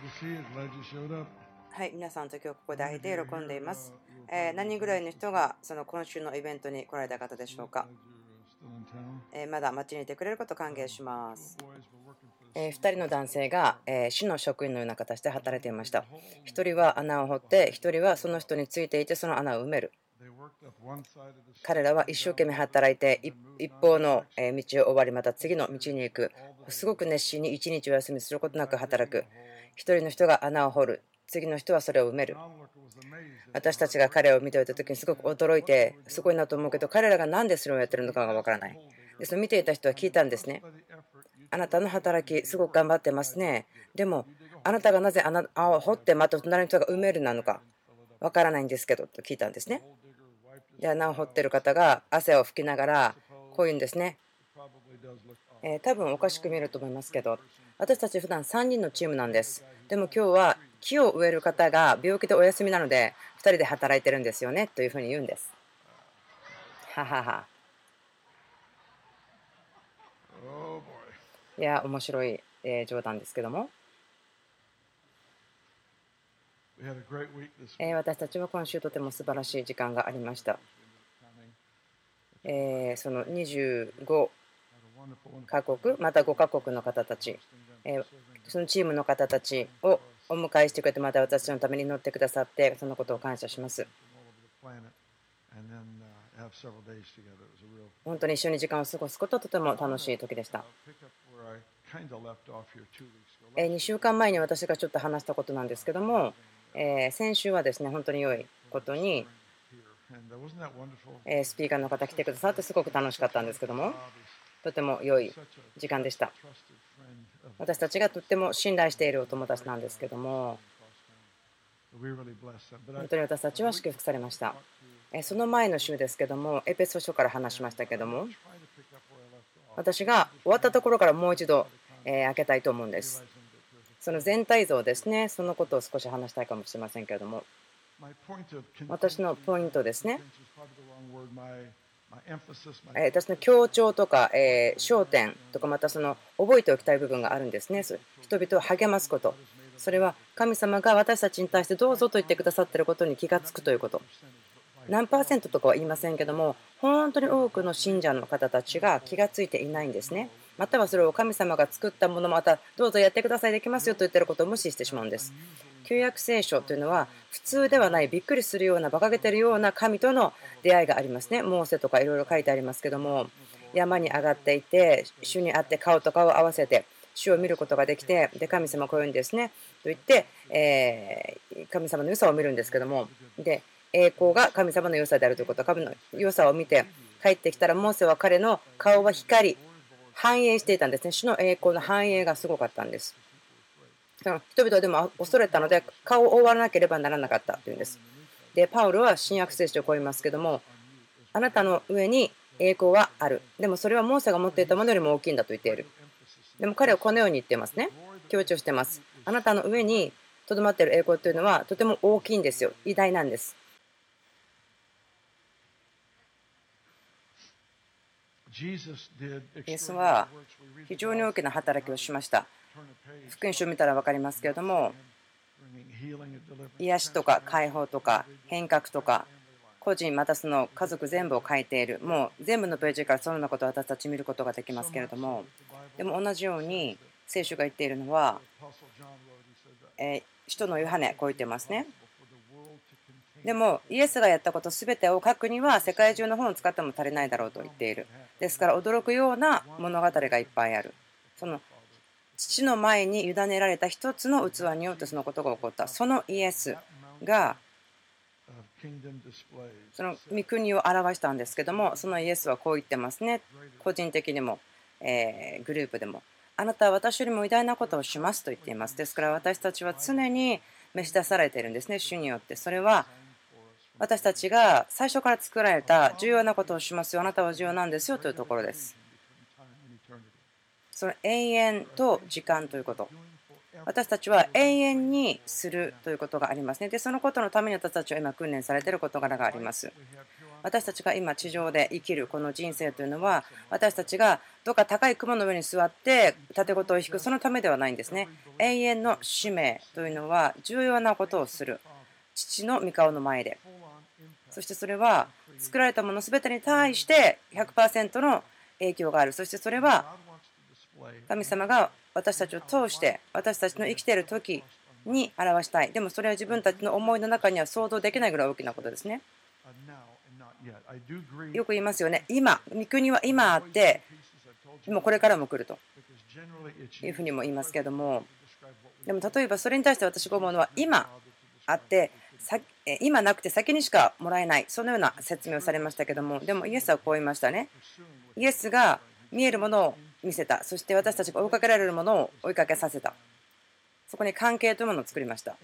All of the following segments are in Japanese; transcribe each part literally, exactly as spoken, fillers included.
はい、皆さんと今日ここで会えて喜んでいます。えー何人ぐらいの人がその今週のイベントに来られた方でしょうか。えーまだ街にいてくれることを歓迎します。えー、ふたりの男性が、えー市の職員のような形で働いていました。ひとりは穴を掘って、ひとりはその人についていてその穴を埋める。彼らは一生懸命働いて、一一方のえー道を終わり、また次の道に行く。すごく熱心に一日お休みすることなく働く。一人の人が穴を掘る。次の人はそれを埋める。私たちが彼を見ていた時にすごく驚いて、すごいなと思うけど、彼らが何でそれをやってるのかがわからない。で、その見ていた人は聞いたんですね。あなたの働き、すごく頑張ってますね。でも、あなたがなぜ穴を掘ってまた隣の人が埋めるなのかわからないんですけどと聞いたんですね。で、穴を掘ってる方が汗を拭きながら、こう言うんですね。えー多分おかしく見えると思いますけど、私たち普段さんにんのチームなんです。でも今日は木を植える方が病気でお休みなので、ふたりで働いてるんですよねというふうに言うんです。ははは。いや、面白い、えー冗談ですけども、えー私たちは今週とても素晴らしい時間がありました。えーそのにじゅうごカ国、またごカ国の方たち、えーそのチームの方たちをお迎えしてくれて、また私のために祈ってくださって、そのことを感謝します。本当に一緒に時間を過ごすことはとても楽しい時でした。えーにしゅうかんまえに私がちょっと話したことなんですけども、えー先週はですね、本当に良いことに、えースピーカーの方来てくださってすごく楽しかったんですけども、とても良い時間でした。私たちがとっても信頼しているお友達なんですけども、本当に私たちは祝福されました。えーその前の週ですけども、エペソ書から話しましたけども、私が終わったところからもう一度、えー開けたいと思うんです。その全体像ですね、そのことを少し話したいかもしれませんけれども、私のポイントですね、えー私の強調とか、えー焦点とか、またその覚えておきたい部分があるんですね。そう人々を励ますこと、それは神様が私たちに対してどうぞと言ってくださっていることに気がつくということ。何パーセントとかは言いませんけども、本当に多くの信者の方たちが気がついていないんですね。またはそれを神様が作ったもの、またどうぞやってください、できますよと言っていることを無視してしまうんです。旧約聖書というのは普通ではない、びっくりするような、馬鹿げてるような神との出会いがありますね。モーセとかいろいろ書いてありますけども、山に上がっていて、主に会って顔と顔を合わせて、主を見ることができて、で神様こういうんですねと言って、えー神様の良さを見るんですけども、で栄光が神様の良さであるということ、神の良さを見て帰ってきたら、モーセは彼の顔は光、反映していたんですね。主の栄光の反映がすごかったんです。人々はでも恐れたので顔を覆わなければならなかったというんです。で、パウロは新約聖書をこう言いますけども、あなたの上に栄光はある。でもそれはモーセが持っていたものよりも大きいんだと言っている。でも彼はこのように言ってますね。強調してます。あなたの上にとどまっている栄光というのはとても大きいんですよ。偉大なんです。イエスは非常に大きな働きをしました。福音書を見たら分かりますけれども、癒しとか解放とか変革とか、個人またその家族全部を変えている、もう全部のページからそのようなことを私たち見ることができますけれども、でも同じように聖書が言っているのは、えー使徒のヨハネ、こう言ってますね。でもイエスがやったことすべてを書くには世界中の本を使っても足りないだろうと言っている。ですから驚くような物語がいっぱいある。その父の前に委ねられた一つの器によってそのことが起こった。そのイエスがその御国を表したんですけども、そのイエスはこう言ってますね。個人的にも、えーグループでも、あなたは私よりも偉大なことをしますと言っています。ですから私たちは常に召し出されているんですね、主によって。それは私たちが最初から作られた重要なことをしますよ、あなたは重要なんですよというところです。その永遠と時間ということ、私たちは永遠にするということがありますね。で、そのことのために私たちは今訓練されている事柄があります。 私たちが今地上で生きるこの人生というのは、私たちがどっか高い雲の上に座って盾事を引くそのためではないんですね。永遠の使命というのは重要なことをする。父の御顔の前で。そしてそれは作られたもの全てに対して ひゃくパーセント の影響がある。そしてそれは神様が私たちを通して私たちの生きている時に表したい。でもそれは自分たちの思いの中には想像できないぐらい大きなことですね。よく言いますよね。今、御国は今あって、もうこれからも来るというふうにも言いますけれども、でも例えばそれに対して私が思うのは、今あって、今なくて先にしかもらえない、そのような説明をされましたけども、でもイエスはこう言いましたね。イエスが見えるものを見せた。そして私たちが追いかけられるものを追いかけさせた。そこに関係というものを作りました。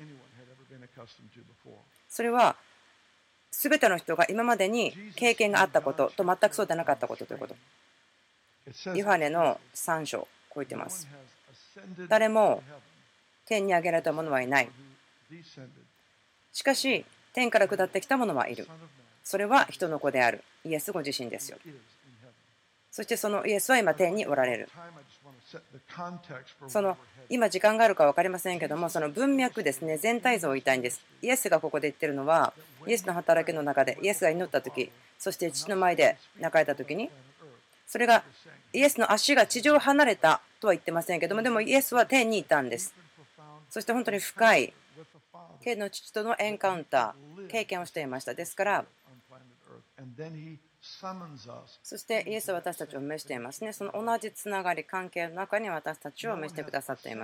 それは全ての人が今までに経験があったことと全くそうでなかったことということ。ヨハネのさん章、こう言ってます。誰も天に上げられた者はいない。しかし、天から下ってきた者はいる。それは人の子である。イエスご自身ですよ。そしてそのイエスは今天におられる。その今時間があるか分かりませんけども、その文脈ですね、全体像を言いたいんです。イエスがここで言ってるのは、イエスの働きの中で、イエスが祈った時、そして父の前で泣かれた時に、それがイエスの足が地上を離れたとは言ってませんけども、でもイエスは天にいたんです。そして本当に深い天の父とのエンカウンター、経験をしていました。ですから、そしてイエスは私たちを召していますね。その同じつながり、関係の中に私たちを召してくださっています。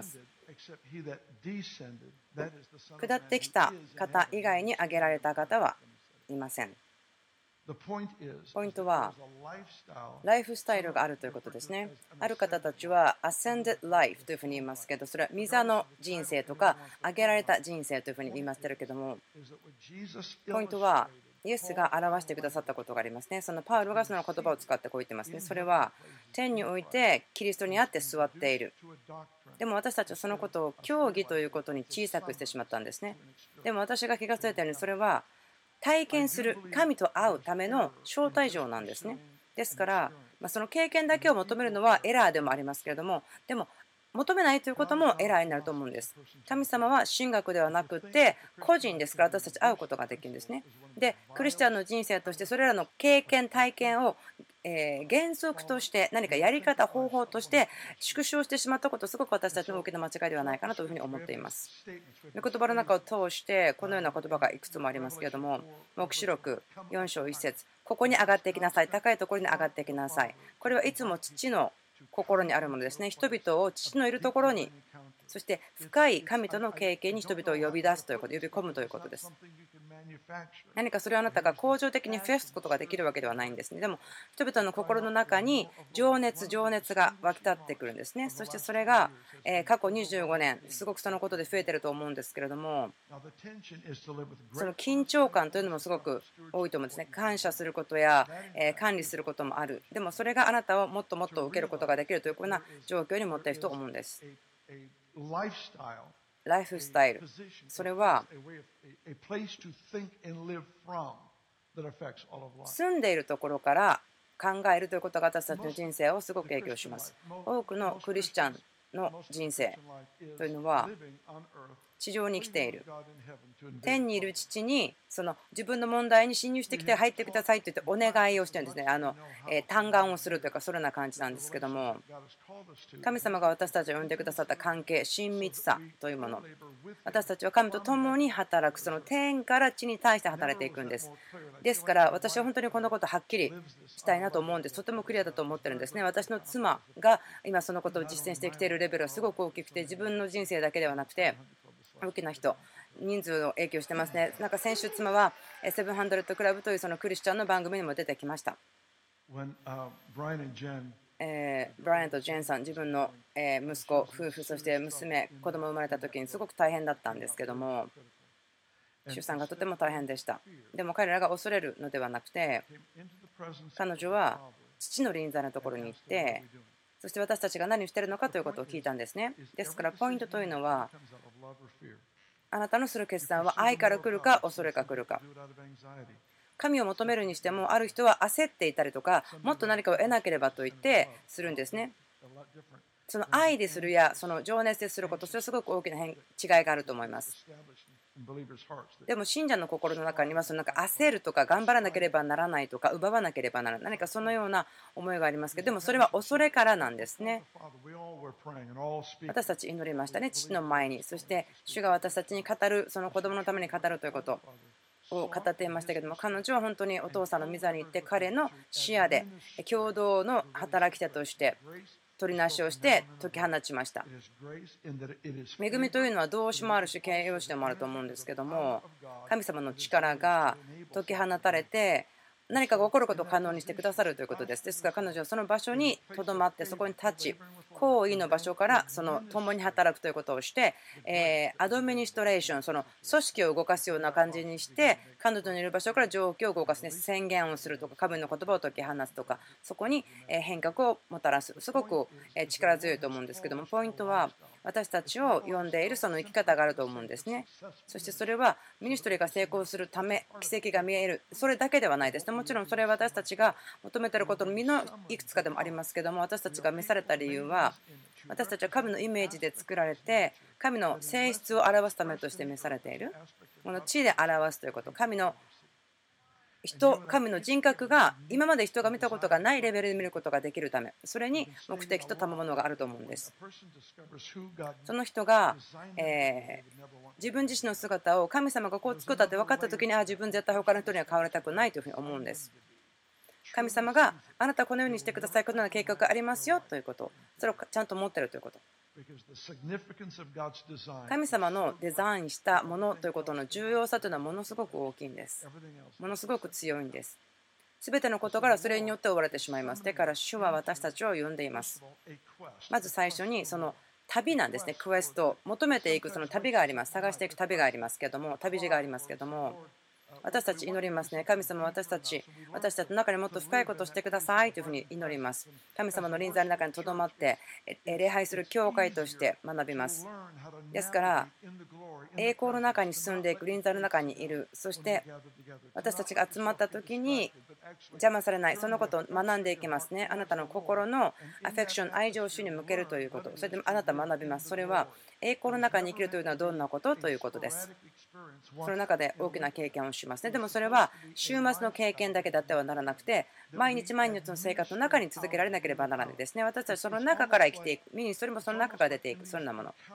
下ってきた方以外に挙げられた方はいません。ポイントは、ライフスタイルがあるということですね。ある方たちは、Ascended Life というふうに言いますけど、それは御座の人生とか、挙げられた人生というふうに言いましてるけども、ポイントは、イエスが表してくださったことがありますね。そのパウロがその言葉を使ってこう言ってますね。それは、天においてキリストにあって座っている。でも私たちはそのことを教義ということに小さくしてしまったんですね。でも私が気がついたように、それは、体験する神と会うための招待状なんですね。ですから、まあ、その経験だけを求めるのはエラーでもありますけれども、でも求めないということもエラーになると思うんです。神様は神学ではなくて個人ですから、私たち会うことができるんですね。で、クリスチャンの人生としてそれらの経験体験をえー原則として何かやり方方法として縮小してしまったこと、すごく私たちの大きな間違いではないかなというふうに思っています。御言葉の中を通してこのような言葉がいくつもありますけれども、黙示録よん章いち節、ここに上がっていきなさい、高いところに上がっていきなさい。これはいつも父の心にあるものですね。人々を父のいるところに、そして深い神との経験に人々を呼び出すということ、呼び込むということです。何かそれをあなたが恒常的に増やすことができるわけではないんですね。でも人々の心の中に情熱情熱が湧き立ってくるんですね。そしてそれが過去にじゅうごねんすごくそのことで増えていると思うんですけれども、その緊張感というのもすごく多いと思うんですね。感謝することや管理することもある。でもそれがあなたをもっともっと受けることができるというような状況に持っていると思うんです。ライフスタイル、それは住んでいるところから考えるということが私たちの人生をすごく影響します。多くのクリスチャンの人生というのは地上に来ている、天にいる父にその自分の問題に侵入してきて入ってくださいと言ってお願いをしてるんですね。あの、えー、嘆願をするというか、そのような感じなんですけども、神様が私たちを呼んでくださった関係、親密さというもの、私たちは神と共に働く、その天から地に対して働いていくんです。ですから私は本当にこのことをはっきりしたいなと思うんです。とてもクリアだと思ってるんですね。私の妻が今そのことを実践してきているレベルはすごく大きくて、自分の人生だけではなくて大きな人、人数の影響してますね。なんか先週妻はセブンハンドレッドクラブというそのクリスチャンの番組にも出てきました。えー、ブライアンとジェンさん、自分の、えー、息子、夫婦、そして娘、子供生まれた時にすごく大変だったんですけども、出産がとても大変でした。でも彼らが恐れるのではなくて、彼女は父の臨在のところに行って、そして私たちが何をしているのかということを聞いたんですね。ですからポイントというのは、あなたのする決断は愛から来るか恐れが来るか。 神を求めるにしても、ある人は焦っていたりとか、もっと何かを得なければと言ってするんですね。その愛でするやその情熱ですること、それはすごく大きな変違いがあると思います。でも信者の心の中にはそのなんか焦るとか頑張らなければならないとか奪わなければならない何かそのような思いがありますけど、でもそれは恐れからなんですね。私たち祈りましたね、父の前に。そして主が私たちに語る、その子供のために語るということを語っていましたけども、彼女は本当にお父さんの御座に行って彼の視野で共同の働き手として取りなしをして解き放ちました。恵みというのは動詞もあるし形容詞でもあると思うんですけども、神様の力が解き放たれて何かが起こることを可能にしてくださるということです。ですから彼女はその場所にとどまってそこに立ち、行為の場所からその共に働くということをして、えーアドミニストレーション、その組織を動かすような感じにして、彼女のいる場所から状況を動かす、ね、宣言をするとか、神の言葉を解き放つとか、そこにえー変革をもたらす、すごくえー力強いと思うんですけども、ポイントは私たちを呼んでいるその生き方があると思うんですね。そしてそれはミニストリーが成功するため、奇跡が見える、それだけではないですね。もちろんそれは私たちが求めていることの実のいくつかでもありますけども、私たちが召された理由は、私たちは神のイメージで作られて、神の性質を表すためとして召されている。この地で表すということ、神の人、神の人格が今まで人が見たことがないレベルで見ることができるため、それに目的と賜物があると思うんです。その人が、えー自分自身の姿を神様がこう作ったって分かったときに、あ自分絶対他の人には変わりたくないというふうに思うんです。神様があなたはこのようにしてください、このような計画がありますよということ、それをちゃんと持っているということ。神様のデザインしたものということの重要さというのはものすごく大きいんです。ものすごく強いんです。すべてのことからそれによって追われてしまいます。だから主は私たちを呼んでいます。まず最初にその旅なんですね。クエスト、求めていくその旅があります。探していく旅がありますけども、旅路がありますけども、私たち祈りますね。神様、私たち、私たちの中にもっと深いことをしてくださいというふうに祈ります。神様の臨在の中にとどまって、礼拝する教会として学びます。ですから、栄光の中に進んでいく、臨在の中にいる、そして私たちが集まった時に邪魔されない、そのことを学んでいきますね。あなたの心のアフェクション、愛情を主に向けるということ、それであなたは学びます。それは栄光の中に生きるというのはどんなことということです。その中で大きな経験をしますね。でもそれは週末の経験だけだってはならなくて、毎日毎日の生活の中に続けられなければならないですね。私たちその中から生きていく、ミニストリーもその中から出ていく、そんなもの。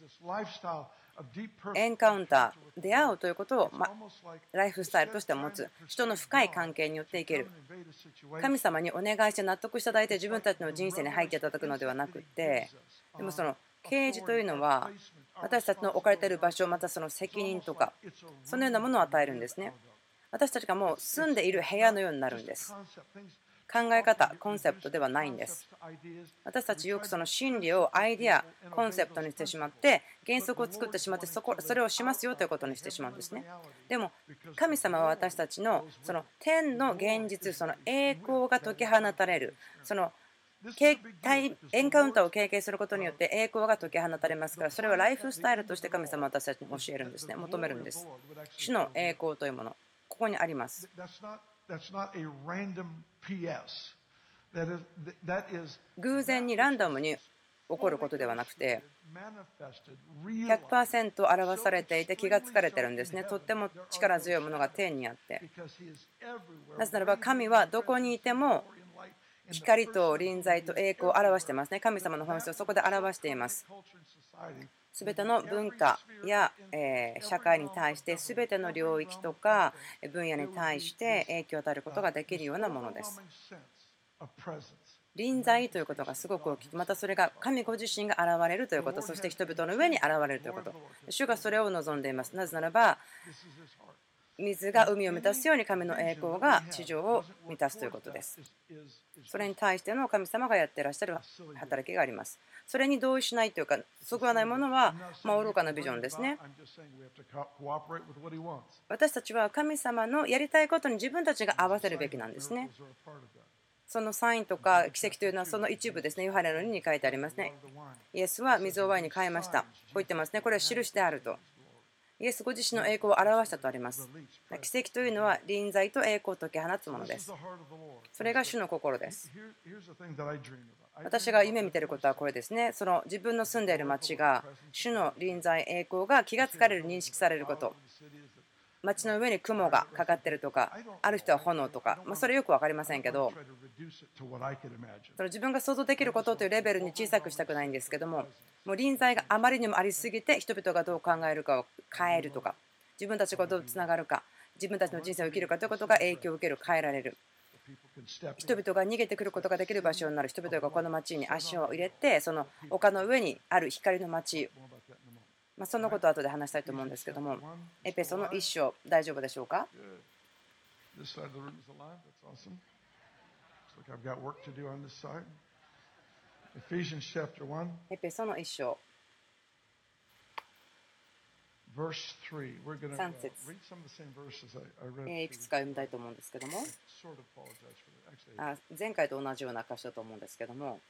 エンカウンター、出会うということを、ま、ライフスタイルとして持つ、人の深い関係によって生きる。神様にお願いして納得していただいて自分たちの人生に入っていただくのではなくて、でもその啓示というのは私たちの置かれている場所、またその責任とかそのようなものを与えるんですね。私たちがもう住んでいる部屋のようになるんです。考え方、コンセプトではないんです。私たちよくその真理をアイデア、コンセプトにしてしまって原則を作ってしまって、そこそれをしますよということにしてしまうんですね。でも神様は私たちのその天の現実、その栄光が解き放たれる、そのエンカウンターを経験することによって栄光が解き放たれますから、それはライフスタイルとして神様は私たちに教えるんですね。求めるんです。主の栄光というもの、ここにあります。偶然にランダムに起こることではなくて ひゃくパーセント 表されていて気がつかれてるんですね。とっても力強いものが天にあって、なぜならば神はどこにいても光と臨在と栄光を表していますね。神様の本質をそこで表しています。すべての文化や、えー、社会に対して、すべての領域とか分野に対して影響を与えることができるようなものです。臨在ということがすごく大きく、またそれが神ご自身が現れるということ、そして人々の上に現れるということ、主がそれを望んでいます。なぜならば、水が海を満たすように神の栄光が地上を満たすということです。それに対しての神様がやっていらっしゃる働きがあります。それに同意しないというか、そぐわないものは、まあ、愚かなビジョンですね。私たちは神様のやりたいことに自分たちが合わせるべきなんですね。そのサインとか奇跡というのはその一部ですね。ヨハネのにに書いてありますね。イエスは水をワインに変えました。こう言ってますね。これは印であると。 イエスご自身の栄光を表したとあります。奇跡というのは臨在と栄光を解き放つものです。それが主の心です。私が夢見ていることはこれですね。その自分の住んでいる町が主の臨在栄光が気がつかれる、認識されること。街の上に雲がかかってるとか、ある人は炎とか、まあ、それよく分かりませんけど、その自分が想像できることというレベルに小さくしたくないんですけども、もう臨在があまりにもありすぎて、人々がどう考えるかを変えるとか、自分たちがどうつながるか、自分たちの人生を生きるかということが影響を受ける、変えられる。人々が逃げてくることができる場所になる。人々がこの町に足を入れて、その丘の上にある光の町、まあ、そのことを後で話したいと思うんですけども、エペソの一章、大丈夫でしょうか。エペソの一章、さん節、いくつか読みたいと思うんですけども、あ前回と同じような箇所だと思うんですけども、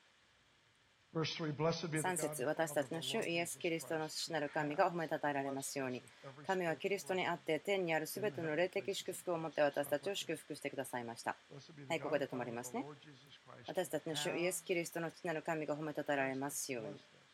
さん節、私たちの主イエス・キリストの父なる神が褒めたたえられますように。神はキリストにあって天にあるすべての霊的祝福をもって私たちを祝福してくださいました。はい、ここで止まりますね。私たちの主イエス・キリストの父なる神が褒めたたえられますように。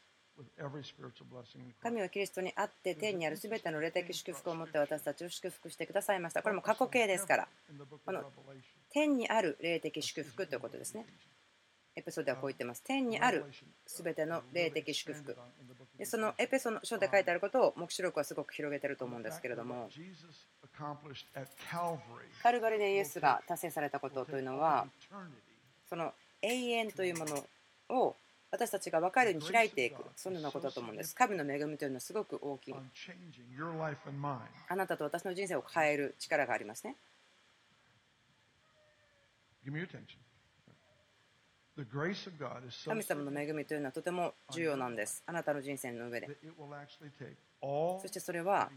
神はキリストにあって天にあるすべての霊的祝福をもって私たちを祝福してくださいました。これも過去形ですから、この天にある霊的祝福ということですね。エペソではこう言ってます。天にあるすべての霊的祝福。でそのエペソの書で書いてあることを黙示録はすごく広げていると思うんですけれども、カルバリでイエスが達成されたことというのは、その永遠というものを私たちが分かるように開いていく、そのようなことだと思うんです。神の恵みというのはすごく大きい。あなたと私の人生を変える力がありますね。神様の恵みというのはとても重要なんです。あなたの人生の上で。そしてそれは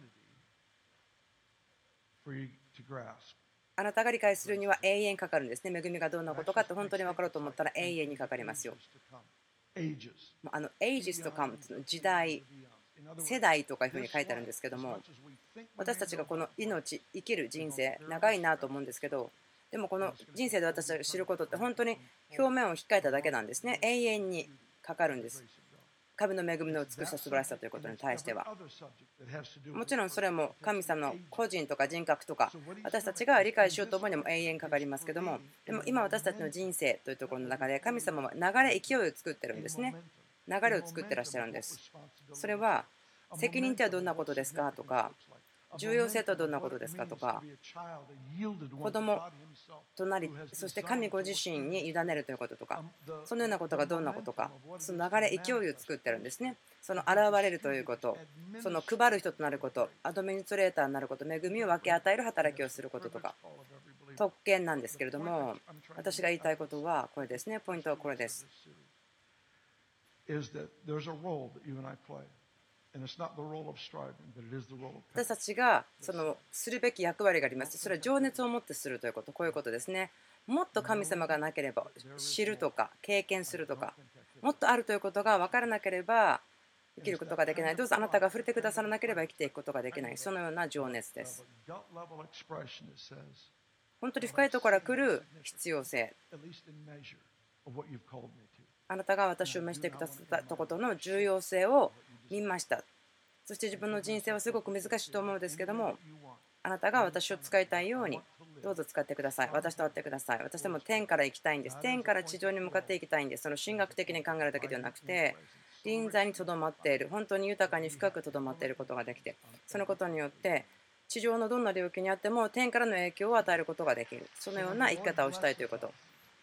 あなたが理解するには永遠かかるんですね。恵みがどんなことかって本当に分かろうと思ったら永遠にかかりますよ。あの ages to come 時代、世代とかいうふうに書いてあるんですけども、私たちがこの命、生きる人生長いなと思うんですけど、でもこの人生で私たちが知ることって本当に表面を引っかえただけなんですね。永遠にかかるんです。神の恵みの美しさ、素晴らしさということに対しては。もちろんそれも神様の個人とか人格とか私たちが理解しようと思うにも永遠かかりますけども、でも今私たちの人生というところの中で神様は流れ、勢いを作ってるんですね。流れを作ってらっしゃるんです。それは責任ってはどんなことですかとか、重要性とはどんなことですかとか、子供となり、そして神ご自身に委ねるということとか、そのようなことがどんなことか、その流れ、勢いを作ってるんですね。その現れるということ、その配る人となること、アドミニストレーターになること、恵みを分け与える働きをすることとか、特権なんですけれども、私が言いたいことはこれですね。ポイントはこれです。私たちがそのするべき役割があります。それは情熱を持ってするということ、こういうことですね。もっと神様がなければ知るとか経験するとか、もっとあるということが分からなければ生きることができない。どうぞあなたが触れてくださらなければ生きていくことができない。そのような情熱です。本当に深いところから来る必要性。あなたが私を召してくださったことの重要性を見ました。そして自分の人生はすごく難しいと思うんですけども、あなたが私を使いたいようにどうぞ使ってください。私と会ってください。私でも天から行きたいんです。天から地上に向かっていきたいんです。その神学的に考えるだけではなくて、臨在にとどまっている、本当に豊かに深くとどまっていることができて、そのことによって地上のどんな領域にあっても天からの影響を与えることができる。そのような生き方をしたいということ。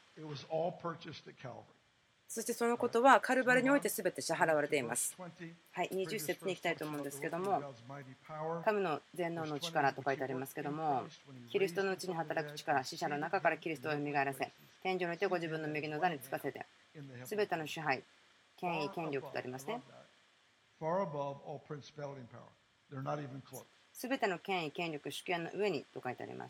そしてそのことはカルバルにおいて全て支払われています。はい、にじゅっ節に行きたいと思うんですけども、神の全能の力と書いてありますけども、キリストのうちに働く力、死者の中からキリストを蘇らせ、天井においてご自分の右の座につかせて、全ての支配、権威、権力とありますね。全ての権威、権力、主権の上にと書いてあります。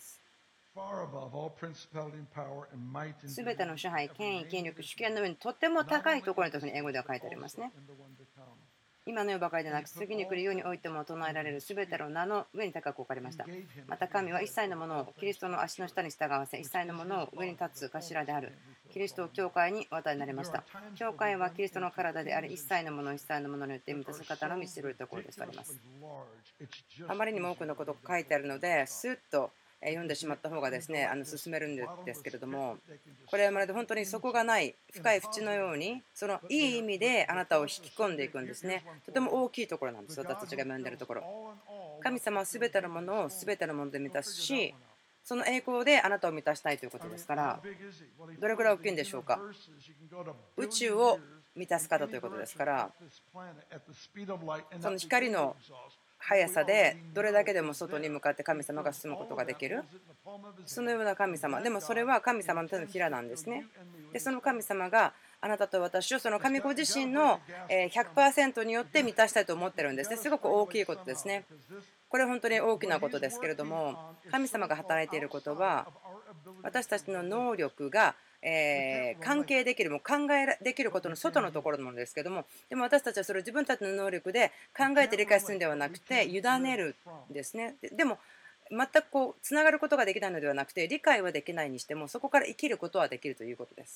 すべての支配、権威、権力、主権の上にとっても高いところにというふうに英語では書いてありますね。 今の世ばかりでなく次に来る世においても唱えられるすべての名の上に高く置かれました。また神は一切のものをキリストの足の下に従わせ、一切のものを上に立つ頭であるキリストを教会にお与えになりました。教会はキリストの体であり、一切のものを一切のものによって満たす方の道しるるところですとあります。あまりにも多くのことが書いてあるので、スッと読んでしまった方がですね、あの進めるんですけれども、これはまるで本当に底がない深い淵のように、そのいい意味であなたを引き込んでいくんですね。とても大きいところなんです、私たちが読んでいるところ。神様は全てのものを全てのもので満たすし、その栄光であなたを満たしたいということですから、どれくらい大きいんでしょうか。宇宙を満たす方ということですから、その光の速さでどれだけでも外に向かって神様が進むことができる、そのような神様。でもそれは神様の手のひらなんですね。でその神様があなたと私をその神ご自身のひゃくパーセントによって満たしたいと思ってるんですね。すごく大きいことですね。これは本当に大きなことですけれども、神様が働いていることは私たちの能力がえー、関係できる、もう考えできることの外のところのものですけども、でも私たちはそれを自分たちの能力で考えて理解するんではなくて委ねるんですね。ででも全くこうつながることができないのではなくて、理解はできないにしてもそこから生きることはできるということです。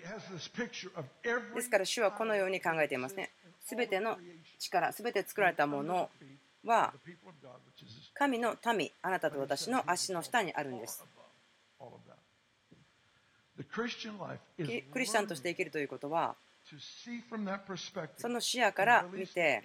ですから主はこのように考えていますね。すべての力、すべて作られたものは神の民、あなたと私の足の下にあるんです。クリスチャンとして生きるということは、その視野から見て、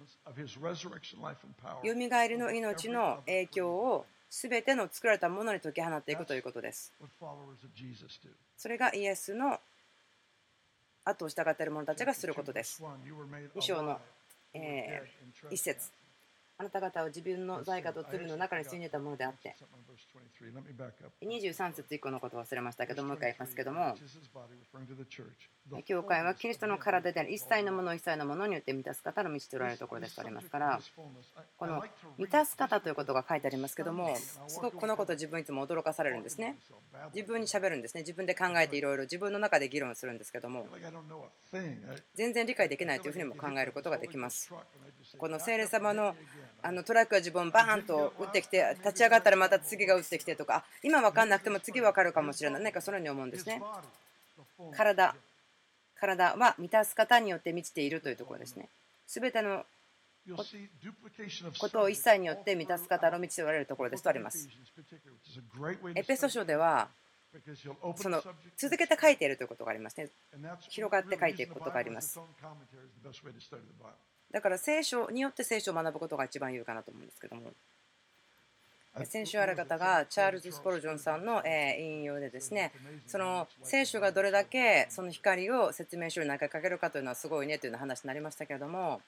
よみがえりの命の影響をすべての作られたものに解き放っていくということです。それがイエスの後を従っている者たちがすることです。に章の、えー、一節。あなた方は自分の罪過と罪の中に住んでいたものであって、にじゅうさん節以降のことを忘れましたけど、もう一回言いますけども、教会はキリストの体であり、一切のものを一切のものによって満たす方の道とられるところですとありますから、この満たす方ということが書いてありますけども、すごくこのことを自分いつも驚かされるんですね。自分にしゃべるんですね。自分で考えていろいろ自分の中で議論するんですけども、全然理解できないというふうにも考えることができます。この聖霊様のあのトラックが自分をバーンと打ってきて、立ち上がったらまた次が打ってきてとか、今分かんなくても次分かるかもしれない、何かそのように思うんですね。体、体は満たす方によって満ちているというところですね。すべてのことを一切によって満たす方の満ちておられるところですとあります。エペソ書ではその続けて書いているということがありますね。広がって書いていくことがあります。だから聖書によって聖書を学ぶことが一番有かなと思うんですけども、先週ある方がチャールズ・スポルジョンさんの引用でですね、その聖書がどれだけその光を説明書に投げかけるかというのはすごいねというような話になりましたけれども、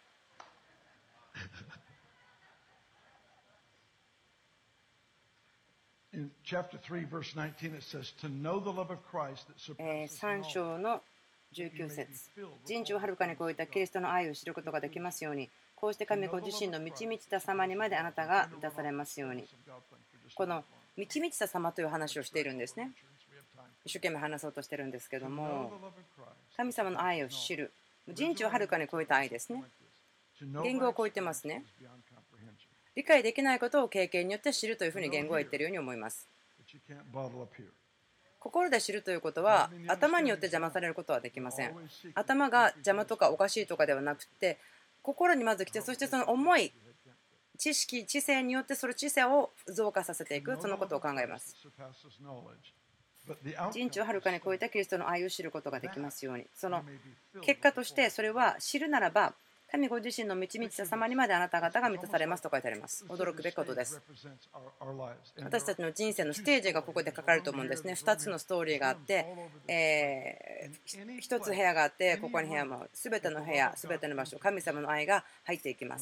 さん章のじゅうきゅう節、人知をはるかに超えたキリストの愛を知ることができますように、こうして神ご自身の満ち満ちた様にまであなたが満たされますように。この満ち満ちた様という話をしているんですね。一生懸命話そうとしてるんですけども、神様の愛を知る、人知をはるかに超えた愛ですね。言語を超えてますね。理解できないことを経験によって知るというふうに言語は言っているように思います。心で知るということは頭によって邪魔されることはできません。頭が邪魔とかおかしいとかではなくて、心にまず来て、そしてその思い、知識、知性によってその知性を増加させていく、そのことを考えます。人知をはるかに超えたキリストの愛を知ることができますように。その結果としてそれは知るならば、神ご自身の満ち満ちた様にまであなた方が満たされますと書いてあります。驚くべきことです。私たちの人生のステージがここで書かれると思うんですね。ふたつのストーリーがあって、えー、ひとつ部屋があって、ここに部屋も、すべての部屋、すべての場所、神様の愛が入っていきます。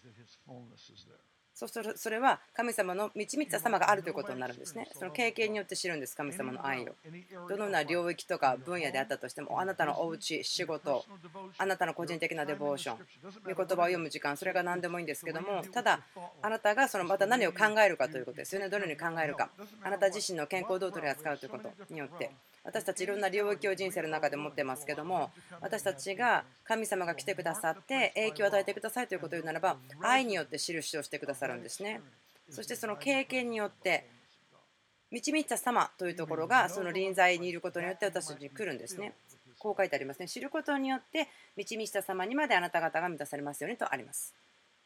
そうするとそれは神様の満ち満ちた様があるということになるんですね。その経験によって知るんです、神様の愛を。どのような領域とか分野であったとしても、あなたのお家、仕事、あなたの個人的なデボーション、御言葉を読む時間、それが何でもいいんですけども、ただ、あなたがそのまた何を考えるかということですよね。どのように考えるか、あなた自身の健康をどう取り扱うということによって。 私たちいろんな領域を人生の中で持ってますけども、私たちが神様が来てくださって影響を与えてくださいということを言うならば、愛によって印をしてくださるんですね。そしてその経験によって導いた様というところがその臨在にいることによって私たちに来るんですね。こう書いてありますね。知ることによって導いた様にまであなた方が満たされますようにとあります。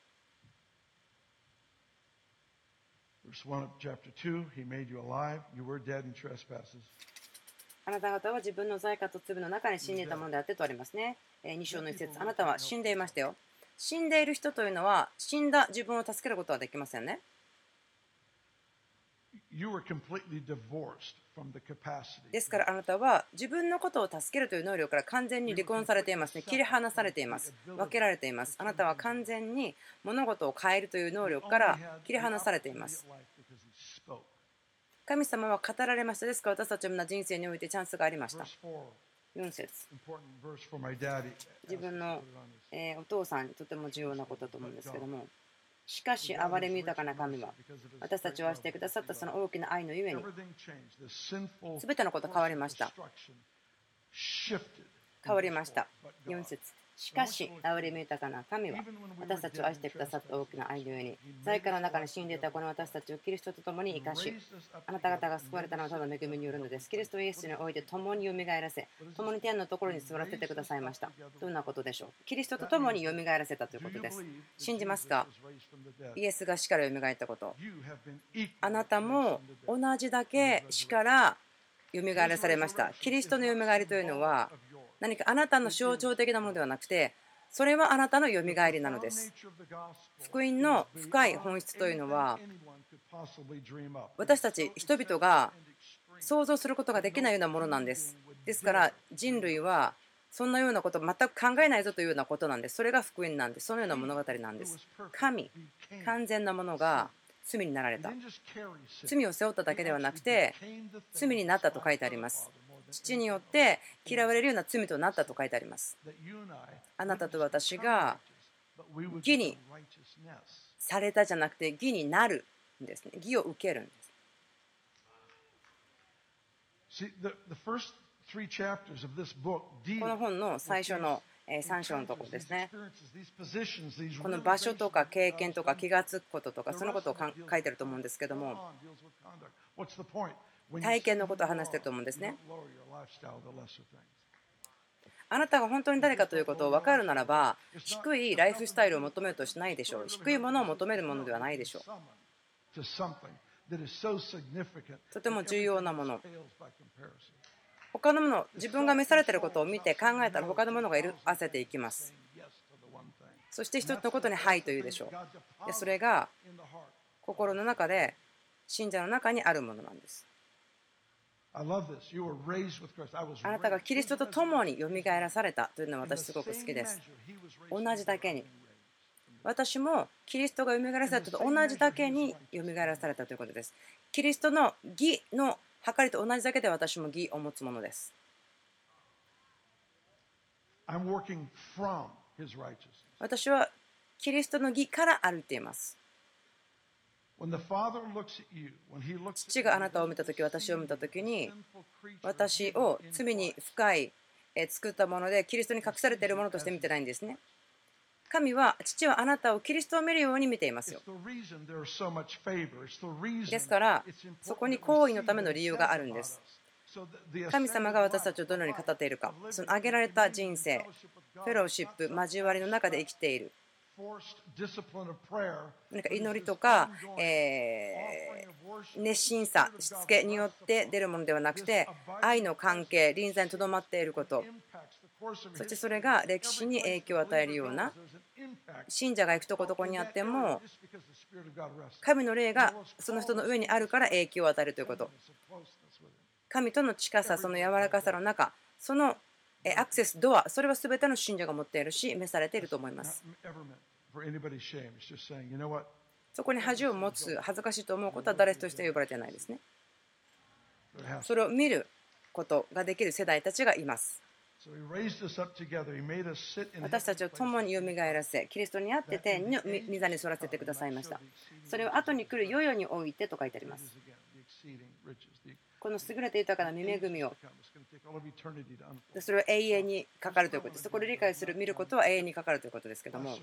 あなた方は自分の罪過と罪の中に死んでいたものであってとありますね。に章の一節、あなたは死んでいましたよ。死んでいる人というのは死んだ自分を助けることはできませんね。ですからあなたは自分のことを助けるという能力から完全に離婚されていますね。切り離されています。分けられています。あなたは完全に物事を変えるという能力から切り離されています。神様は語られました。ですから私たちの人生においてチャンスがありました。よん節、自分の、えー、お父さんにとても重要なことだと思うんですけども、しかし憐れみ豊かな神は私たちを愛してくださったその大きな愛のゆえに全てのこと変わりました。変わりました。よん節、しかし憐れみ豊かな神は私たちを愛してくださった大きな愛のゆえに罪から中に死んでいたこの私たちをキリストと共に生かし、あなた方が救われたのはただ恵みによるのです。キリストイエスにおいて共によみがえらせ、共に天のところに座らせてくださいました。どんなことでしょう。キリストと共によみがえらせたということです。信じますか。イエスが死からよみがえったこと、あなたも同じだけ死からよみがえらされました。キリストのよみがえりというのは何かあなたの象徴的なものではなくて、それはあなたのよみがえりなのです。福音の深い本質というのは、私たち人々が想像することができないようなものなんです。ですから人類はそんなようなことを全く考えないぞというようなことなんです。それが福音なんです。そのような物語なんです。神、完全なものが罪になられた。罪を背負っただけではなくて罪になったと書いてあります。父によって嫌われるような罪となったと書いてあります。あなたと私が義にされたじゃなくて義になるんですね。義を受けるんです。この本の最初のさん章のところですね。この場所とか経験とか気がつくこととかそのことを書いてると思うんですけども、体験のことを話していると思うんですね。あなたが本当に誰かということを分かるならば、低いライフスタイルを求めようとしないでしょう。低いものを求めるものではないでしょう。とても重要なもの。他のもの、自分が召されていることを見て考えたら他のものが色あせていきます。そして一つのことにはいと言うでしょう。でそれが心の中で信者の中にあるものなんです。あなたがキリストと共によみがえらされたというのは私すごく好きです。同じだけに私もキリストがよみがえらされたと同じだけによみがえらされたということです。キリストの義の計りと同じだけで私も義を持つものです。私はキリストの義から歩いています。父があなたを見たとき、私を見たときに、私を罪に深い作ったもので、キリストに隠されているものとして見てないんですね。神は、父はあなたをキリストを見るように見ていますよ。ですから、そこに行為のための理由があるんです。神様が私たちをどのように語っているか、その挙げられた人生、フェローシップ、交わりの中で生きている。何か祈りとか、えー、熱心さ、しつけによって出るものではなくて、愛の関係、臨在にとどまっていること、そしてそれが歴史に影響を与えるような、信者が行くとこどこにあっても、神の霊がその人の上にあるから影響を与えるということ。神との近さ、その柔らかさの中、そのアクセス、ドア、それは全ての信者が持っているし、召されていると思います。そこに恥を持つ、恥ずかしいと思うことは誰として呼ばれていないですね。それを見ることができる世代たちがいます。私たちを共によみがえらせ、キリストにあって天の御座に座らせてくださいました。それを後に来る世々においてと書いてあります。 この優れて豊かな御恵みを、それは永遠にかかるということです。これを理解する、見ることは永遠にかかるということですけども、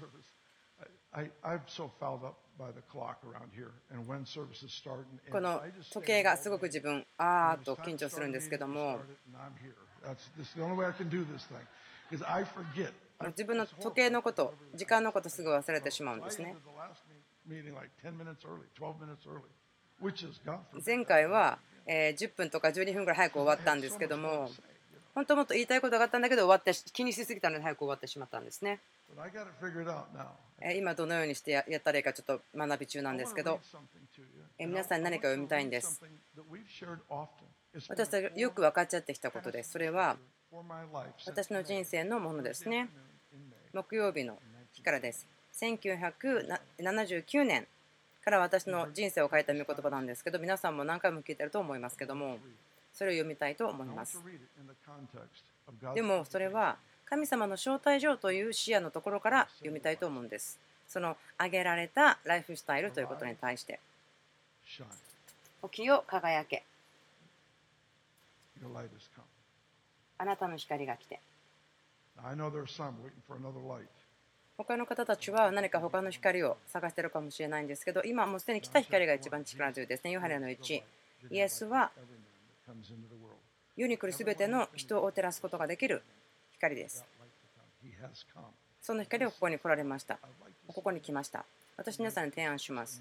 この時計がすごく自分、あーっと緊張するんですけども、自分の時計のこと、時間のことすぐ忘れてしまうんですね。前回はじゅっぷんとかじゅうにふんぐらい早く終わったんですけども、本当もっと言いたいことがあったんだけど終わって気にしすぎたので早く終わってしまったんですね。今どのようにしてやったらいいかちょっと学び中なんですけど、皆さんに何か読みたいんです。私たちがよく分かっちゃってきたことです。それは私の人生のものですね。木曜日の日からです。せんきゅうひゃくななじゅうきゅうねんから私の人生を変えた御言葉なんですけど、皆さんも何回も聞いてると思いますけども、それを読みたいと思います。でもそれは神様の招待状という視野のところから読みたいと思うんです。その挙げられたライフスタイルということに対して、起きよ輝け、あなたの光が来て。他の方たちは何か他の光を探しているかもしれないんですけど、今もうすでに来た光が一番力強いですね。ヨハネのいち、イエスは世に来るすべての人を照らすことができる光です。その光をここに来られました。ここに来ました。私皆さんに提案します。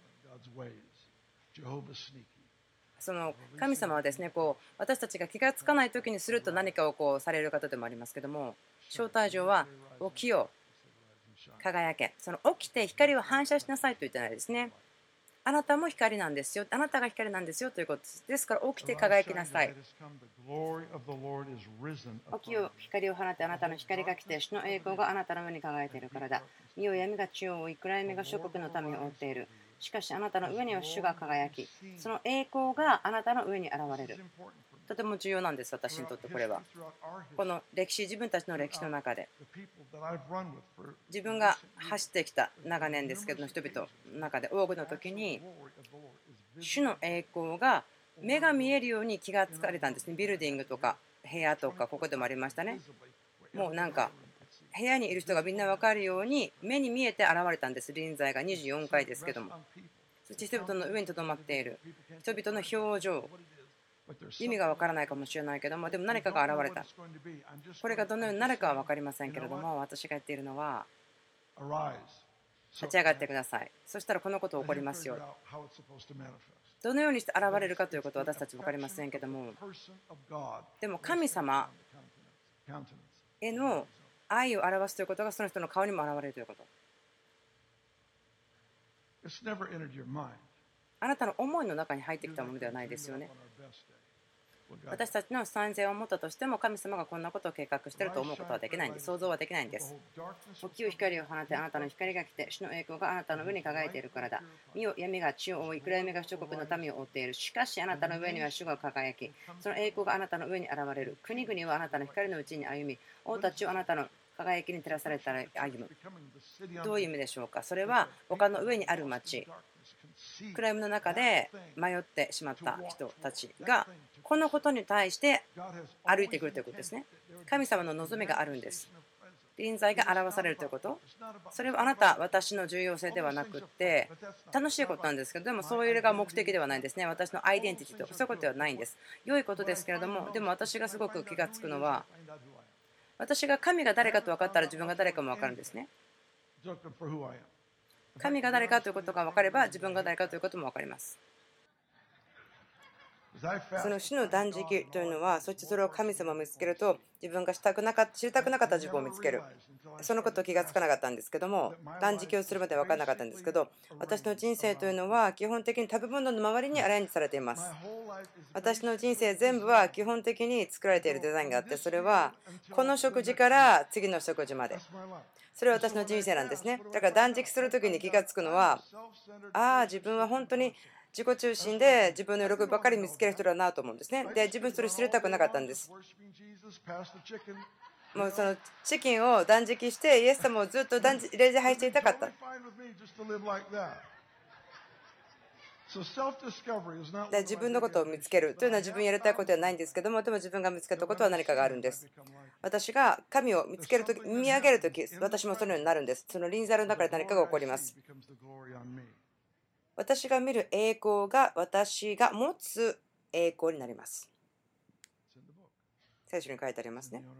その神様はですね、こう私たちが気がつかない時にすると何かをこうされる方でもありますけども、招待状は起きよ輝け、その起きて光を反射しなさいと言ってないですね。あなたも光なんですよ、あなたが光なんですよということです。ですから起きて輝きなさい。起きよ光を放って、あなたの光が来て主の栄光があなたの上に輝いているからだ。見よ闇が地を覆い、暗闇が諸国の民を覆っている。しかしあなたの上には主が輝き、その栄光があなたの上に現れる。とても重要なんです、私にとってこれは。この歴史、自分たちの歴史の中で、自分が走ってきた長年ですけど、人々の中で多くの時に、主の栄光が目が見えるように気がつかれたんですね。ビルディングとか部屋とか、ここでもありましたね。もうなんか、部屋にいる人がみんな分かるように目に見えて現れたんです。臨在がにじゅうよんかいですけども。そして人々の上にとどまっている人々の表情、意味が分からないかもしれないけども、でも何かが現れた。これがどのようになるかは分かりませんけれども、私が言っているのは、立ち上がってください。そしたらこのこと起こりますよ。どのようにして現れるかということは私たち分かりませんけども、でも神様への愛を表すということがその人の顔にも現れるということ。あなたの思いの中に入ってきたものではないですよね。私たちの賛成を持ったとしても、神様がこんなことを計画していると思うことはできないんです。想像はできないんです。起きよ光を放て、あなたの光が来て、主の栄光があなたの上に輝いているからだ。見よ闇が地を覆い、暗闇が諸国の民を覆っている。しかしあなたの上には主が輝き、その栄光があなたの上に現れる。国々はあなたの光のうちに歩み、王たちをあなたの輝きに照らされたら歩む。どういう意味でしょうか。それは丘の上にある町、暗闇の中で迷ってしまった人たちがこのことに対して歩いてくるということですね。神様の望みがあるんです。臨在が表されるということ、それはあなた私の重要性ではなくって楽しいことなんですけど、でもそういうのが目的ではないんですね。私のアイデンティティとかそういうことではないんです。良いことですけれども、でも私がすごく気がつくのは、私が神が誰かと分かったら自分が誰かも分かるんですね。神が誰かということが分かれば自分が誰かということも分かります。その主の断食というのは、そしてそれを神様を見つけると自分がしたくなかった知りたくなかった自分を見つける、そのことを気がつかなかったんですけども、断食をするまで分からなかったんですけど、私の人生というのは基本的に食べ物の周りにアレンジされています。私の人生全部は基本的に作られているデザインがあって、それはこの食事から次の食事まで、それは私の人生なんですね。だから断食するときに気がつくのは、ああ自分は本当に自己中心で自分の喜びばかり見つける人だなと思うんですね。で、自分それ知りたくなかったんです。もうそのチキンを断食してイエス様をずっと礼拝していたかった。 で自分のことを見つけるというのは自分にやりたいことではないんですけども、でも自分が見つけたことは何かがあるんです。私が神を見つけるとき、見上げるとき、私もそのようになるんです。その臨在の中で何かが起こります。私が見る栄光が私が持つ栄光になります。聖書に書いてありますね。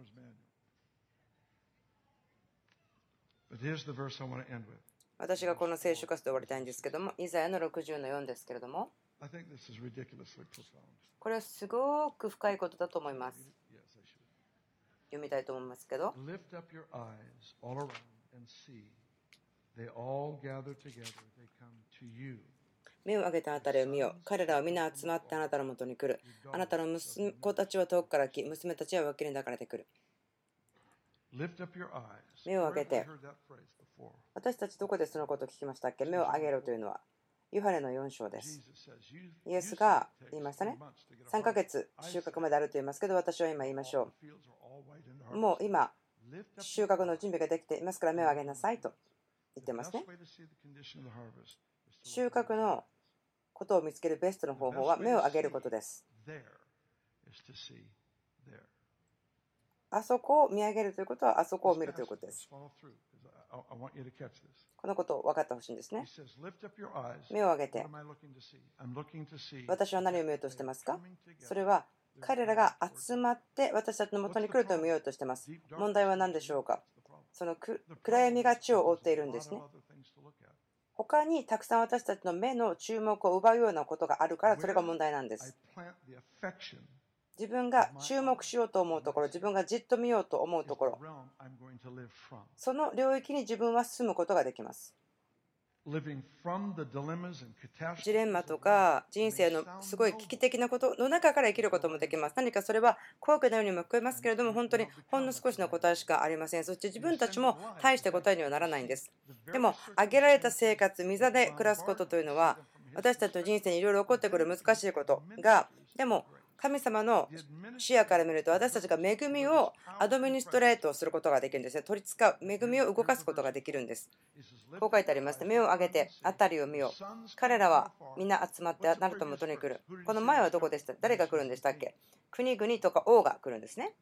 私がこの聖書箇所で終わりたいんですけども、イザヤのろくじゅうのよんですけれども、これはすごく深いことだと思います。読みたいと思いますけど、目を上げたあなたを見よ。彼らは皆集まってあなたのもとに来る。あなたの息子たちは遠くから来、娘たちは脇に抱かれてくる。目を上げて。私たちどこでそのことを聞きましたっけ？目を上げろというのはヨハネのよん章です。イエスが言いましたね。さんかげつ収穫まであると言いますけど、私は今言いましょう。もう今収穫の準備ができていますから目を上げなさいと言ってますね。収穫のことを見つけるベストの方法は目を上げることです。あそこを見上げるということはあそこを見るということです。このことを分かってほしいんですね。目を上げて。私は何を見ようとしてますか？それは彼らが集まって私たちのもとに来ると見ようとしています。問題は何でしょうか？その暗闇が地を覆っているんですね。他にたくさん私たちの目の注目を奪うようなことがあるから、それが問題なんです。自分が注目しようと思うところ、自分がじっと見ようと思うところ、その領域に自分は進むことができます。ジレンマとか人生のすごい危機的なことの中から生きることもできます。何かそれは高価なようにも聞こえますけれども、本当にほんの少しの答えしかありません。そして自分たちも大して答えにはならないんです。でも、挙げられた生活、御座で暮らすことというのは、私たちの人生にいろいろ起こってくる難しいことが、でも、神様の視野から見ると、私たちが恵みをアドミニストレートすることができるんですね。取り使う、恵みを動かすことができるんです。こう書いてありますね。目を上げて、辺りを見よう。彼らはみんな集まってあなたのもとに来る。この前はどこでした？誰が来るんでしたっけ？国々とか王が来るんですね。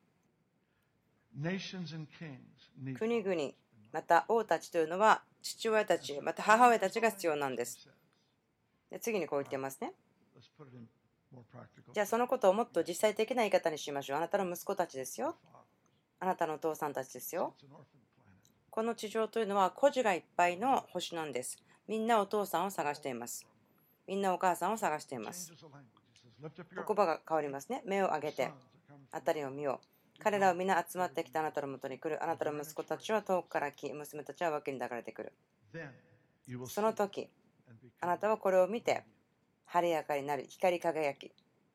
国々、また王たちというのは、父親たち、また母親たちが必要なんです。で次にこう言ってますね。じゃあそのことをもっと実際的な言い方にしましょう。あなたの息子たちですよ。あなたのお父さんたちですよ。この地上というのは孤児がいっぱいの星なんです。みんなお父さんを探しています。みんなお母さんを探しています。言葉が変わりますね。目を上げて、辺りを見よう。彼らは皆集まってきてあなたのもとに来る。あなたの息子たちは遠くから来、娘たちは脇に抱かれてくる。その時、あなたはこれを見て、晴れやかになり、光り輝き。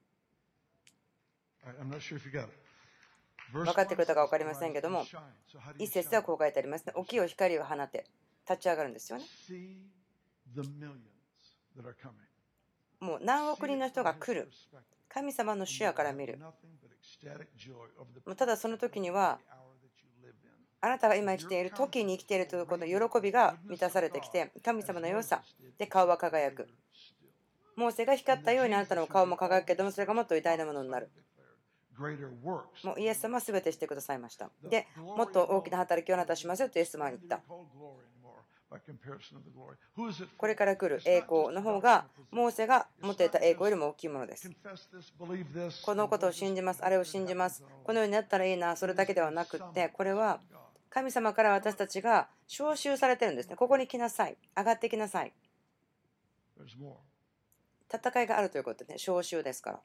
分かってくれたか分かりませんけども、一節ではこう書いてありますね。起きよ光を放て、立ち上がるんですよね。もう何億人の人が来る。神様の視野から見る。ただその時には、あなたが今生きている時に生きているということの喜びが満たされてきて、神様の良さで顔は輝く。モーセが光ったようにあなたの顔も輝くけども、それがもっと偉大なものになる。もうイエス様は全てしてくださいました。で、もっと大きな働きをあなたはしますよとイエス様は言った。これから来る栄光の方が、モーセが持っていた栄光よりも大きいものです。このことを信じます、あれを信じます。このようになったらいいな、それだけではなくって、これは神様から私たちが召集されてるんですね。ここに来なさい。上がってきなさい。戦いがあるということでね、召集ですから。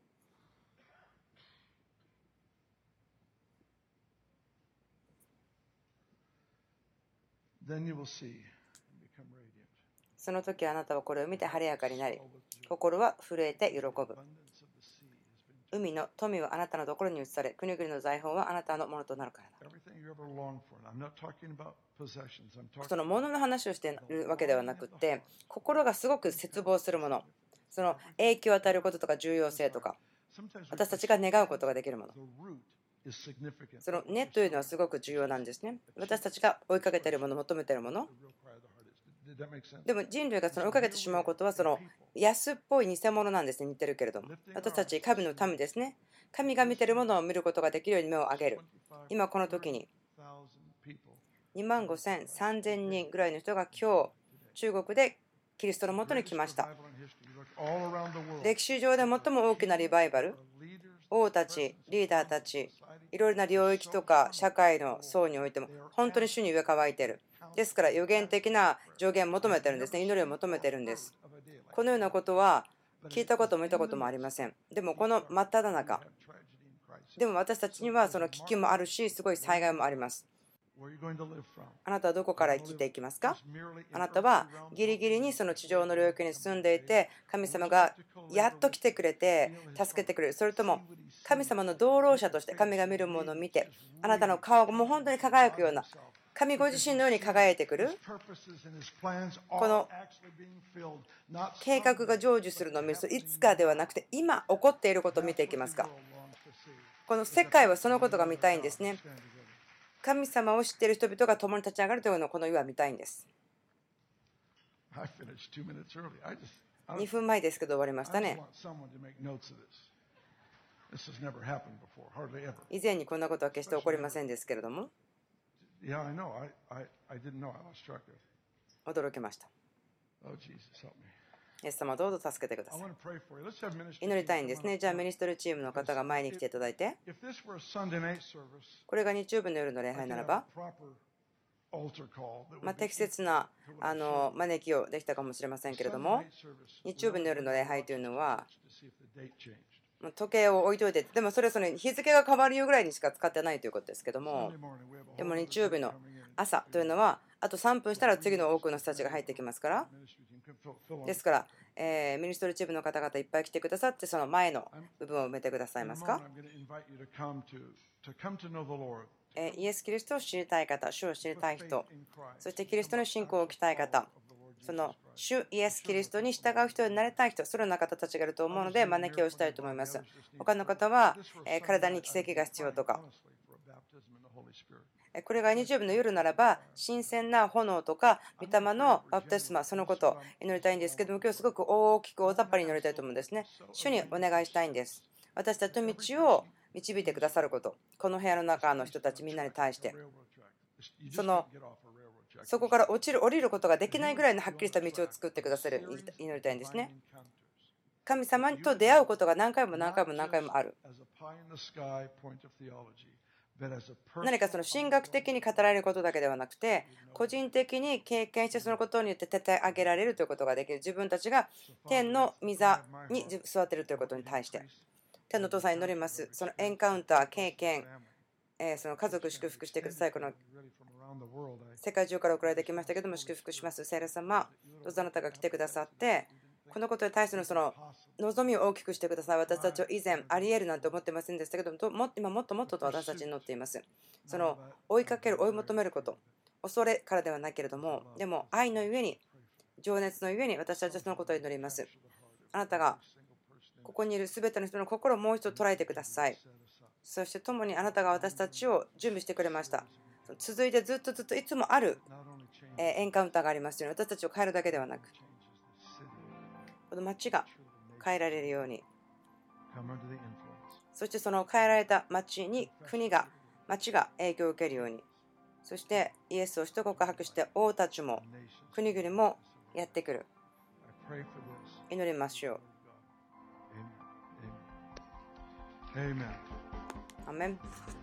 その時あなたはこれを見て晴れやかになり、心は震えて喜ぶ。海の富はあなたのところに移され、国々の財宝はあなたのものとなるからだ。そのものの話をしているわけではなくて、心がすごく切望するもの、その影響を与えることとか重要性とか、私たちが願うことができるもの。その根というのはすごく重要なんですね。私たちが追いかけているもの、求めているもの。 でも人類がその追いかけてしまうことはその安っぽい偽物なんですね。似てるけれども。私たち神の民ですね。神が見てるものを見ることができるように目を上げる。今この時ににまんごせん、さんぜんにんぐらいの人が今日中国でキリストのもとに来ました。歴史上で最も大きなリバイバル、王たち、リーダーたち、いろいろな領域とか社会の層においても本当に主に上乾いている。ですから予言的な助言を求めてるんですね。祈りを求めてるんです。このようなことは聞いたことも見たこともありません。でもこの真っ只中、でも私たちにはその危機もあるし、すごい災害もあります。あなたはどこから生きていきますか？あなたはギリギリにその地上の領域に住んでいて、神様がやっと来てくれて助けてくれる。それとも神様の同労者として神が見るものを見て、あなたの顔がもう本当に輝くような、神ご自身のように輝いてくる。この計画が成就するのを見ると、いつかではなくて今起こっていることを見ていきますか？この世界はそのことが見たいんですね。神様を知っている人々が共に立ち上がるというのをこの世は見たいんです。にふんまえですけど終わりましたね。以前にこんなことは決して起こりませんですけれども、驚きました。イエス様どうぞ助けてください。祈りたいんですね。じゃあミニストリーチームの方が前に来ていただいて、これが日曜日の夜の礼拝ならば、まあ、適切なあの招きをできたかもしれませんけれども、日曜日の夜の礼拝というのは時計を置いといて、でもそれはその日付が変わるよぐらいにしか使ってないということですけども、でも日曜日の朝というのはあとさんぷんしたら次の多くの人たちが入ってきますから、ですから、えー、ミニストリーチームの方々いっぱい来てくださって、その前の部分を埋めてくださいますか？えイエス・キリストを知りたい方、主を知りたい人、そしてキリストの信仰を置きたい方、その主イエス・キリストに従う人になりたい人、そのような方たちがいると思うので招きをしたいと思います。他の方は、え体に奇跡が必要とか、これが日曜日の夜ならば新鮮な炎とか御霊のバプテスマ、そのことを祈りたいんですけども、今日すごく大きく大雑把に祈りたいと思うんですね。主にお願いしたいんです。私たちの道を導いてくださること、この部屋の中の人たちみんなに対して、そのそこから落ちる降りることができないぐらいのはっきりした道を作ってくださる祈りたいんですね。神様と出会うことが何回も何回も何回もある。何かその神学的に語られることだけではなくて、個人的に経験してそのことによって立て上げられるということができる。自分たちが天の御座に座っているということに対して、天のお父さんに祈ります。そのエンカウンター、経験、えー、その家族祝福してください。この世界中から送られてきましたけども、祝福します。聖霊様、どうぞあなたが来てくださって、このことに対してのその望みを大きくしてください。私たちは以前ありえるなんて思ってませんでしたけども、今もっともっとと私たちに乗っています。その追いかける、追い求めること、恐れからではないけれども、でも愛のゆえに、情熱のゆえに私たちはそのことを祈ります。あなたがここにいるすべての人の心をもう一度捉えてください。そして共にあなたが私たちを準備してくれました。続いてずっとずっといつもあるエンカウンターがありますように、私たちを変えるだけではなく、この町が変えられるように、そしてその変えられた町に国が、町が影響を受けるように、そしてイエスを一告白して王たちも国々もやってくる。祈りましょう。アメン。